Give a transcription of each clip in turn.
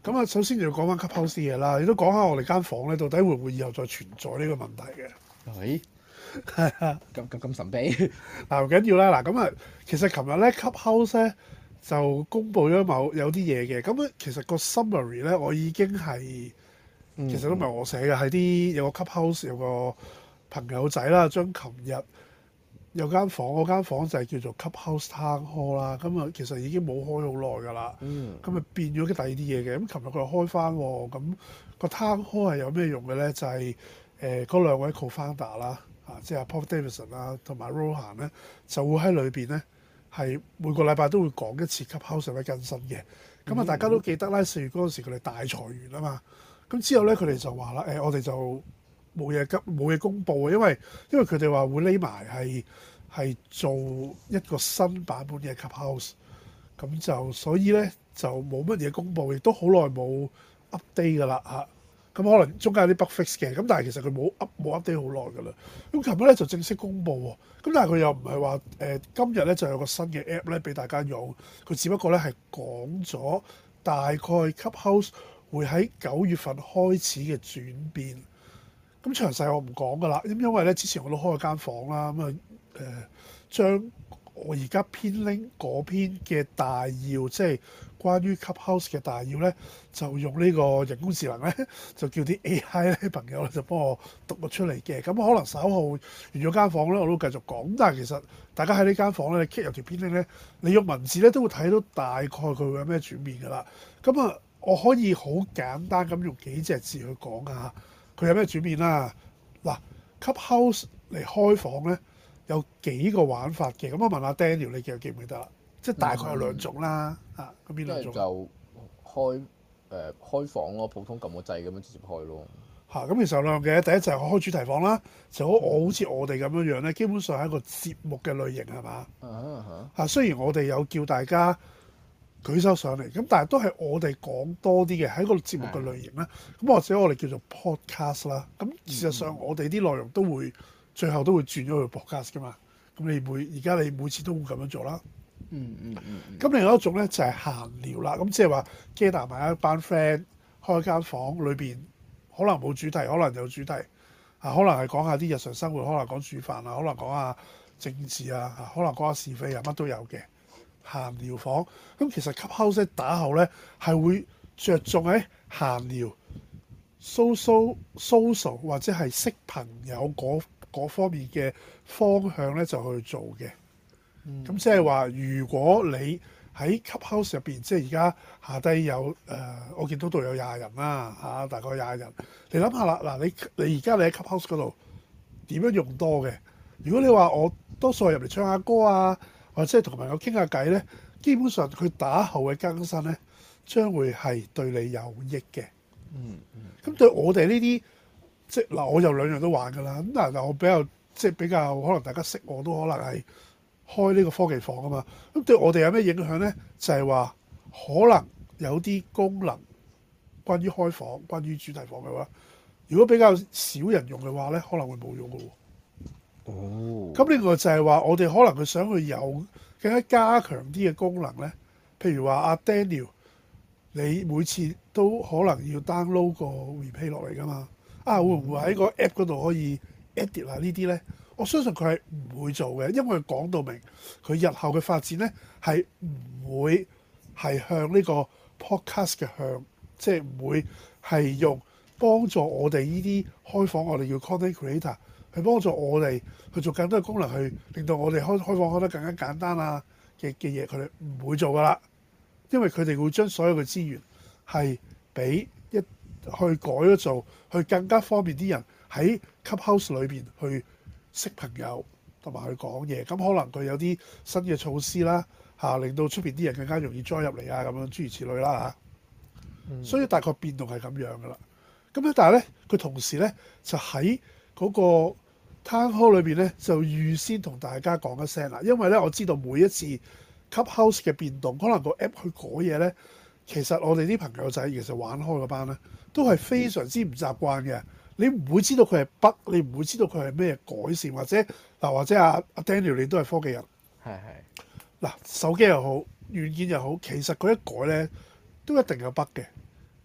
咁啊，首先就要講翻 Clubhouse 啲嘢啦，亦都講下我哋間房咧，到底會唔會以後再存在呢個問題嘅？ 係係啊， 咁神秘。 嗱唔緊要啦，嗱咁啊，其實琴日咧 Clubhouse 咧就公布咗有啲嘢嘅，咁咧其實個 summary 咧我已經係其實都唔係我寫嘅，係啲有個 Clubhouse 有個朋友仔啦，將琴日有間房，嗰間房就係叫做 Clubhouse Town Hall 啦，咁啊其實已經冇開好耐㗎啦，咁啊變咗第二啲嘢嘅，咁琴日佢又開翻喎，咁個 Town Hall 係有咩用嘅咧？就係嗰兩位 co-founder 啦，即係 Paul Davidson 啦同埋 Rohan 咧，就會喺裏邊咧係每個禮拜都會講一次 Clubhouse 嘅更新嘅，咁啊大家都記得啦，4月嗰陣時佢哋大裁員啊嘛，咁之後咧佢哋就話啦，我哋就冇嘢公佈嘅，因為佢哋話會匿埋係做一個新版本嘅 Clubhouse，咁就所以咧就冇乜嘢公佈，亦都好耐冇 update 㗎啦嚇。咁可能中間有啲 bug fix 嘅，咁但係其實佢冇 update 好耐㗎啦。咁琴日咧就正式公佈喎，咁但係佢又唔係話今日咧就有個新嘅 app 咧俾大家用，佢只不過咧係講咗大概 Clubhouse 會喺9月份開始嘅轉變。咁詳細我唔講㗎啦，因為咧之前我都開咗間房啦，咁啊將我而家編 link 嗰篇嘅大要，即係關於 Clubhouse 嘅大要咧，就用呢個人工智能咧，就叫啲 AI 咧朋友咧就幫我讀咗出嚟嘅。咁可能稍後完咗間房咧，我都繼續講。咁但係其實大家喺呢間房咧，你 click 有條編 link 咧，你用文字咧都會睇到大概佢會有咩轉變㗎啦。咁啊，我可以好簡單咁用幾隻字去講下佢有咩轉變啦。嗱 Clubhouse 嚟開房咧有幾個玩法嘅，咁我問下 Daniel 你記唔記得啦？即係大概有兩種啦，咁邊兩種？ 就開房咯，普通撳個掣咁樣直接開咯。 咁其實有兩樣嘅，第一就係開主題房啦，就好似我哋咁樣樣咧，基本上係一個節目嘅類型係嘛？雖然我哋有叫大家舉手上嚟，咁但係都係我哋講多啲嘅，喺個節目嘅類型啦。咁或者我哋叫做 podcast 啦。咁事實上我哋啲內容都會最後都會轉咗去 podcast 噶嘛。咁而家你每次都會咁樣做啦。咁另外一種咧就係閒聊啦。咁即係話 gather 埋一班 friend 開間房裏邊，可能冇主題，可能有主題。可能係講下啲日常生活，可能講煮飯啊，可能講下政治啊，可能講下是非啊，乜都有嘅。閒聊房，咁其實 Clubhouse 打後咧係會着重喺閒聊、social 或者係識朋友嗰方面嘅方向咧就去做嘅。咁即係話，如果你喺 Clubhouse 入邊，即係而家下低有我見到度有20人啦，大概20人。你諗下啦，嗱你而家你喺 Clubhouse 嗰度點樣用多嘅？如果你話我多數係入嚟唱下歌啊，或者係同朋友傾下偈咧，基本上佢打後嘅更新咧，將會係對你有益嘅。咁對我哋呢啲，即係嗱，我有兩樣都玩㗎啦。咁但係我比較可能大家識我都可能係開呢個科技房啊嘛。咁對我哋有咩影響咧？就係話可能有啲功能關於開房、關於主題房嘅話，如果比較少人用嘅話咧，可能會冇用㗎喎。咁另外就係話，我哋可能佢想去有更加加強啲嘅功能咧，譬如話阿 Daniel，你每次都可能要 download 個 replay 落嚟㗎嘛？會唔會喺個 app 嗰度可以 edit 下呢啲咧？我相信佢係唔會做嘅，因為佢講到明，佢日後嘅發展咧係唔會係向呢個 podcast 嘅向，即係唔會係用幫助我哋呢啲開房，我哋叫 content creator。去幫助我哋去做更多嘅功能，去令到我哋開房開得更加簡單啊嘅嘢，佢哋唔會做噶啦，因為佢哋會將所有嘅資源係俾去改咗做，去更加方便啲人喺 Clubhouse 裏邊去識朋友同埋去講嘢。咁可能佢有啲新嘅措施啦，令到出邊啲人更加容易 join 入嚟啊，咁樣諸如此類啦所以大概變動係咁樣噶啦。咁咧，但係咧，佢同時咧就喺嗰個Town Hall 裏邊咧，就預先同大家講一聲啦。因為咧，我知道每一次 Clubhouse 嘅變動，可能個 app 去改嘢咧，其實我哋啲朋友仔其實玩開嗰班咧，都係非常之唔習慣嘅。你唔會知道佢係 bug，你唔會知道佢係咩改善，或者阿 Daniel 你都係科技人，嗱手機又好，軟件又好，其實佢一改咧都一定有 bug 嘅。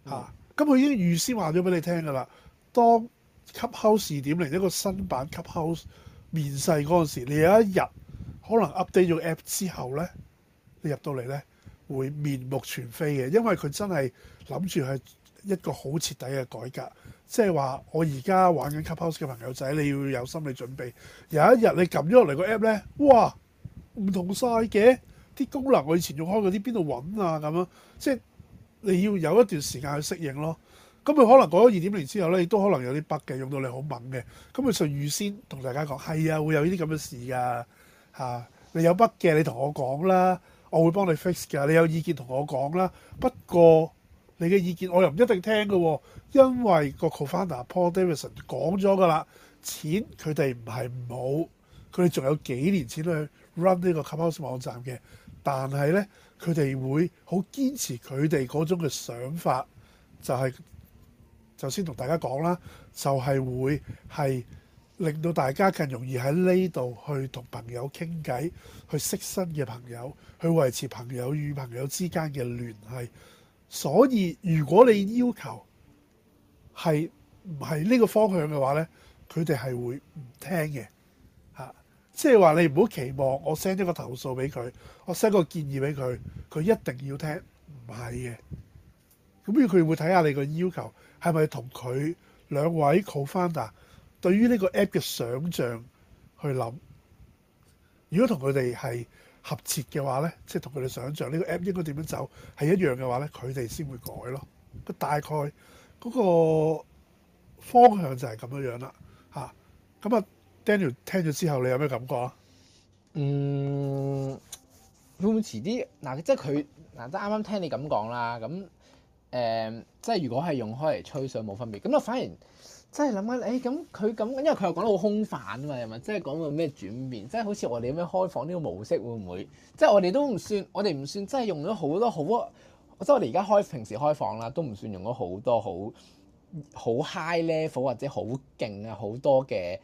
嚇。咁佢已經預先話咗俾你聽㗎啦。當 Clubhouse 2.0一個新版 Clubhouse 面世嗰陣時，你有一日可能 update 咗 app 之後咧，你入到嚟咧會面目全非嘅，因為佢真係諗住係一個好徹底嘅改革。即係話，我而家玩緊 Clubhouse 嘅朋友仔，你要有心理準備。有一日你撳咗落嚟個 app 咧，哇，唔同晒嘅啲功能，我以前用開嗰啲邊度揾啊咁樣，即係你要有一段時間去適應咯。咁佢可能過咗2.0之後咧，亦都可能有啲 bug 嘅，用到你好猛嘅。咁佢就預先同大家講，係啊，會有呢啲咁嘅事㗎嚇。你有 bug 嘅，你同我講啦，我會幫你 fix 㗎。你有意見同我講啦。不過你嘅意見我又唔一定聽嘅喎，因為個 co-founder Paul Davidson 講咗㗎啦，錢佢哋唔係唔好，佢哋仲有幾年錢去 run 呢個 Clubhouse 網站嘅。但係咧，佢哋會好堅持佢哋嗰種嘅想法，就係、就先同大家講啦，就係會係令到大家更容易喺呢度去同朋友傾偈，去識新嘅朋友，去維持朋友與朋友之間嘅聯繫。所以如果你要求係唔係呢個方向嘅話咧，佢哋係會唔聽嘅嚇。即係話你唔好期望我 send 一個投訴俾佢，我 send 個建議俾佢，佢一定要聽，唔係嘅。咁佢會睇下你個要求係咪同佢兩位 co-founder 對於呢個 app 嘅想像去諗。如果同佢哋係合切嘅話咧，即係同佢哋想像呢個 app 應該點樣走係一樣嘅話咧，佢哋先會改咯。大概嗰個方向就係咁樣樣啦嚇。咁啊 Daniel 聽咗之後，你有咩感覺啊？ 會唔會遲啲嗱？即係佢嗱，即係啱啱聽你咁講啦，咁即係如果係用開嚟吹水冇分別，咁我反而真係諗緊，咁佢咁，因為佢又講得好空泛啊嘛，係咪？即係講到咩轉變，即係好似我哋咁樣開放呢個模式會唔會？即係我哋都唔算，我哋唔算真係用咗好多好，即係我哋而家平時開放啦，都唔算用咗好多好 high level 或者好勁啊好多嘅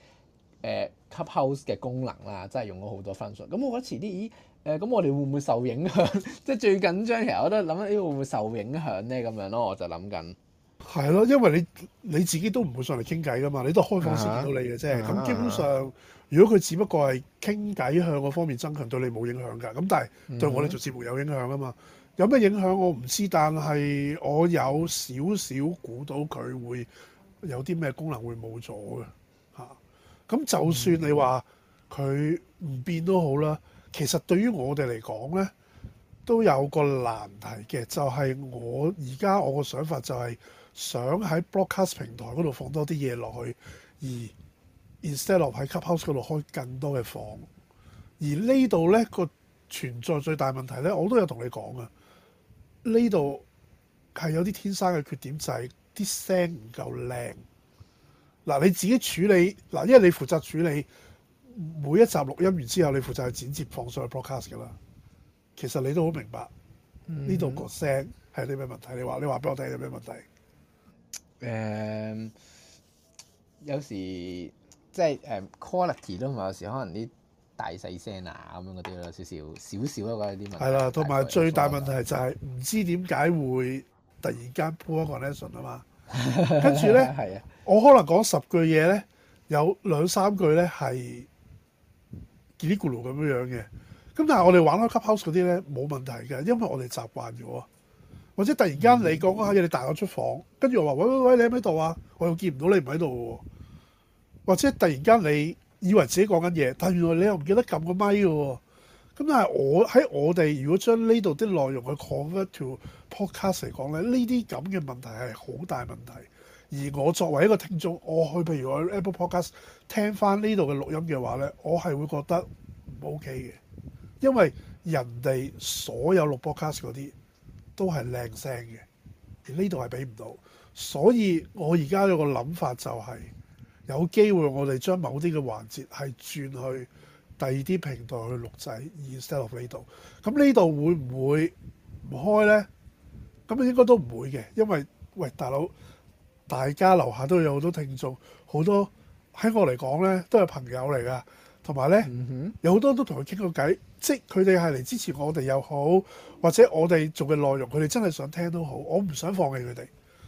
Clubhouse 嘅功能啦，真係用咗好多 function。咁我覺得遲啲，咁我哋會唔會受影響？即係最緊張，其實我都諗緊，會唔會受影響咧？咁樣咯，我就諗緊。 係咯，因為你自己都唔會上嚟傾偈噶嘛，你都開放先見到你嘅啫。咁基本上，如果佢只不過係傾偈向嗰方面增強，對你冇影響㗎。咁但係對我哋做節目有影響啊嘛。有咩影響我唔知，但係我有少少估到佢會有啲咩功能會冇咗嘅嚇。咁就算你話佢唔變都好啦，其實對於我哋嚟講咧，都有個難題嘅，就係我而家我個想法就係想喺 broadcast 平台嗰度放多啲嘢落去，而 instead of 喺 Clubhouse 嗰度開更多嘅房。而呢度咧個存在最大問題咧，我都有同你講啊。呢度係有啲天生嘅缺點，就係啲聲唔夠靚。嗱，你自己處理嗱，因為你負責處理每一集錄音完之後，你負責去剪接放上去 broadcast 㗎啦。其實你都好明白呢度個聲係啲咩問題？你話俾我聽有咩問題？ 有時即係quality 都唔係，有時可能啲大細聲啊咁樣嗰啲咯，少咯，覺得啲問題。係啦，同埋最大問題就係唔知點解會突然間 poor connection 啊嘛。跟住咧，我可能講10句嘢咧，有2-3句咧係嘰哩咕嚕咁樣嘅。咁但係我哋玩開 Clubhouse 嗰啲咧冇問題嘅，因為我哋習慣咗。或者突然間你講下嘢，你帶我出房，跟住我話喂，你喺唔喺度啊？我又見唔到你唔喺度喎。或者突然間你以為自己講緊嘢，但原來你又唔記得撳個咪嘅喎。咁但係我哋如果將呢度啲內容去 convert to podcast 嚟講咧，呢啲咁嘅問題係好大問題。而我作為一個聽眾，我去譬如我 Apple Podcast 聽翻呢度嘅錄音嘅話咧，我係會覺得唔 OK 嘅，因為人哋所有錄 podcast 嗰啲都係靚聲嘅，而呢度係俾唔到。所以我而家有個諗法就係有機會我哋將某啲嘅環節係轉去第二啲平台去錄製，instead of 呢度。咁呢度會唔會唔開呢？咁應該都唔會嘅，因為喂大佬，大家樓下都有好多聽眾，好多喺我嚟講呢都係朋友嚟㗎，同埋呢，有好多都同佢傾過偈，即係佢哋係嚟支持我哋又好，或者我哋做嘅內容佢哋真係想聽都好，我唔想放棄佢哋。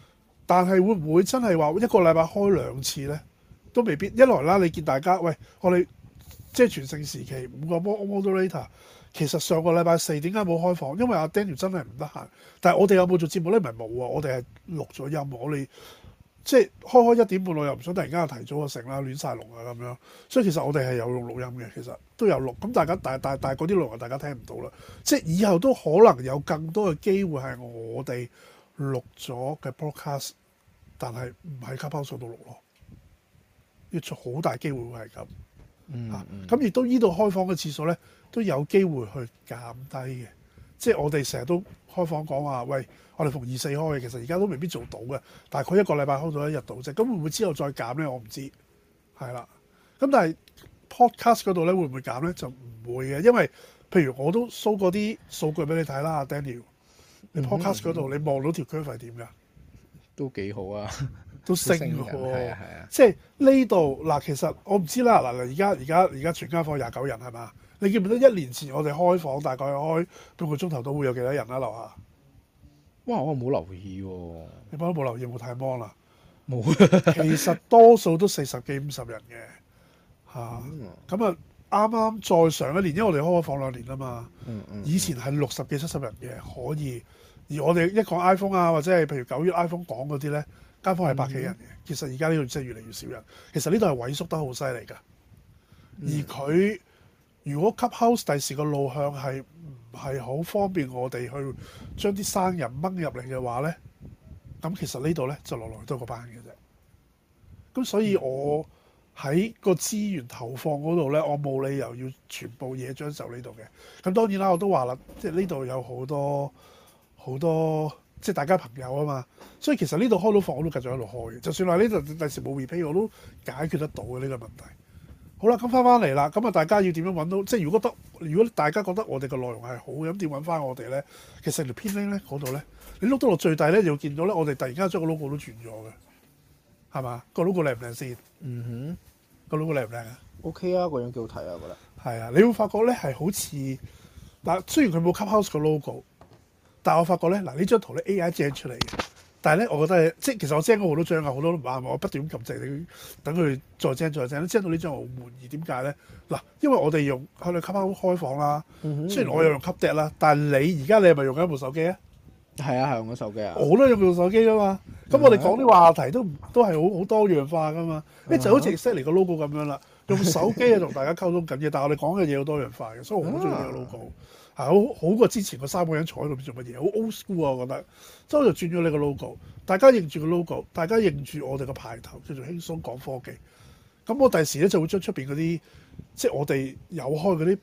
但係會唔會真係話一個禮拜開2次咧？都未必。一來啦，你見大家喂，我哋即係全盛時期5個 moderator， 其實上個禮拜4點解冇開房？因為阿 Daniel 真係唔得閒。但係我哋有冇做節目咧？唔係冇啊，我哋係錄咗音。我哋即係開1點半，我又唔想突然間又提早就成啦，亂晒龍啊咁樣。所以其實我哋係有用錄音嘅，其實都有錄。咁大家但係嗰啲內容大家聽唔到啦。即係以後都可能有更多嘅機會係我哋錄咗嘅 broadcast， 但係唔喺 Clubhouse 度錄咯。要出好大機會會係咁。咁亦都依度開房嘅次數咧，都有機會去減低嘅。即係我哋成日都開房講話，喂，我哋逢2、4開嘅，其實而家都未必做到嘅。大概一個禮拜開到1日到啫。咁會唔會之後再減咧？我唔知。係啦。咁但係 podcast 嗰度咧會唔會減咧？就唔會嘅，因為譬如我都 show 過啲數據俾你睇啦，Daniel。你 podcast 嗰度你望到條 curve 係點㗎？ 都幾好啊！ 都升喎， 係啊， 即係呢度嗱，其實我唔知啦。嗱，而家全間房29人係嘛？你記唔記得1年前我哋開房大概開半個鐘頭都會有幾多人啦？樓下？ 哇！我冇留意喎。 你幫都冇留意，冇太芒啦。 冇。 其實多數都40幾50人嘅嚇。咁啊，啱啱再上一年，因為我哋開咗房2年啊嘛。以前係60幾70人嘅可以，而我哋一講 iPhone 啊，或者係譬如9月 iPhone 講嗰啲咧。間房係百幾人嘅，其實而家呢度真係越嚟越少人。其實呢度係萎縮得好犀利㗎。而佢如果 Clubhouse 第時個路向係唔係好方便我哋去將啲生人掹入嚟嘅話咧，咁其實呢度咧就來都個班嘅啫。咁所以我喺個資源投放嗰度咧，我冇理由要全部嘢將就呢度嘅。咁當然啦，我都話啦，即係呢度有好多。即係大家朋友啊嘛，所以其實呢度開到房我都繼續喺度開嘅。就算話呢度第時冇 repeat， 我都解決得到嘅呢個問題。好啦，咁翻嚟啦，咁啊大家要點樣揾到？即係如果大家覺得我哋嘅內容係好嘅，咁點揾翻我哋咧？其實條編 link 咧嗰度咧，你碌到落最底咧，就會見到咧，我哋突然間將個 logo 都轉咗嘅，係嘛？個 logo 靚唔靚先？個 logo 靚唔靚啊 ？OK 啊，個樣幾好睇啊，我覺得。 係啊，你會發覺咧係好似嗱，雖然佢冇 Clubhouse 個 logo。但係我發覺咧，嗱呢張圖咧 AI generate 出嚟嘅，但係咧我覺得即係其實我 generate 咗好多張啊，好多都唔啱，我不斷咁撳掣，等佢再 generate 到呢張我好滿意。點解咧？嗱，因為我哋用喺度 Clubhouse 開房啦，雖然我有用 Clubdeck 啦，但係你而家你係咪用緊部手機啊？ 係啊，係用緊手機啊。 我都用部手機噶嘛。咁我哋講啲話題都係好多樣化噶嘛。就好似 set 嚟個 logo 咁樣啦，用手機啊同大家溝通緊嘅，但係我哋講嘅嘢好多樣化嘅，所以我好中意呢個 logo。好過之前個3個人坐喺度做乜嘢，好 old school 啊！我覺得，之後就轉咗呢個 logo， 大家認住個 logo， 大家認住我哋個牌頭叫做輕鬆講科技。咁我第時咧就會將出邊嗰啲，即係我哋有開嗰啲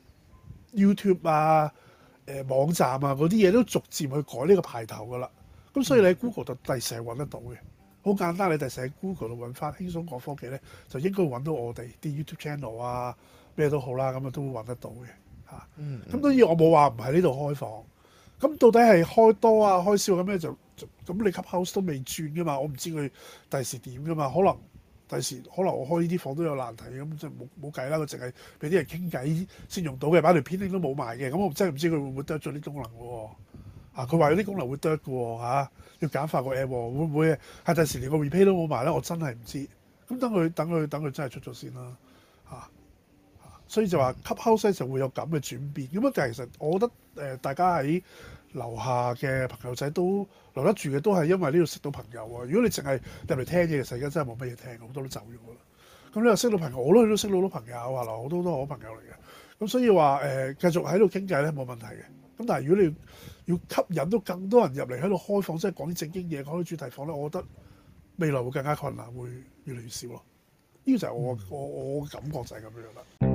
YouTube 啊、網站啊嗰啲嘢都逐漸去改呢個牌頭噶啦。咁所以你喺 Google 就第時係揾得到嘅，好簡單。你第時喺 Google 度揾翻輕鬆講科技咧，就應該揾到我哋啲 YouTube channel 啊，咩都好啦，咁啊都會揾得到嘅。咁當然我冇話唔喺呢度開房，咁到底係開多啊開少咁咧就咁你 Clubhouse 都未轉噶嘛，我唔知佢第時點噶嘛，可能我開呢啲房都有難題，咁即係冇計啦，佢淨係俾啲人傾偈先用到嘅，把條編拎都冇埋嘅，咁我真係唔知佢會唔會得咗啲功能喎。佢話有啲功能會得嘅喎，要簡化個 app 喎，會唔會係第時連個 replay 都冇埋咧？我真係唔知。咁等佢真係出咗先啦，所以就話 Clubhouse 就會有咁嘅轉變。咁但係其實我覺得大家喺樓下嘅朋友仔都留得住嘅，都係因為呢度識到朋友啊。如果你淨係入嚟聽嘢，其實而家真係冇乜嘢聽，好多都走咗啦。咁你又識到朋友，我都識到好多朋友啊，好多都係好朋友嚟嘅。咁所以話繼續喺度傾偈咧冇問題嘅。咁但係如果你要吸引到更多人入嚟喺度開房，即係講啲正經嘢，講啲主題房咧，我覺得未來會更加困難，會越嚟越少咯。呢個就係我感覺就係咁樣啦。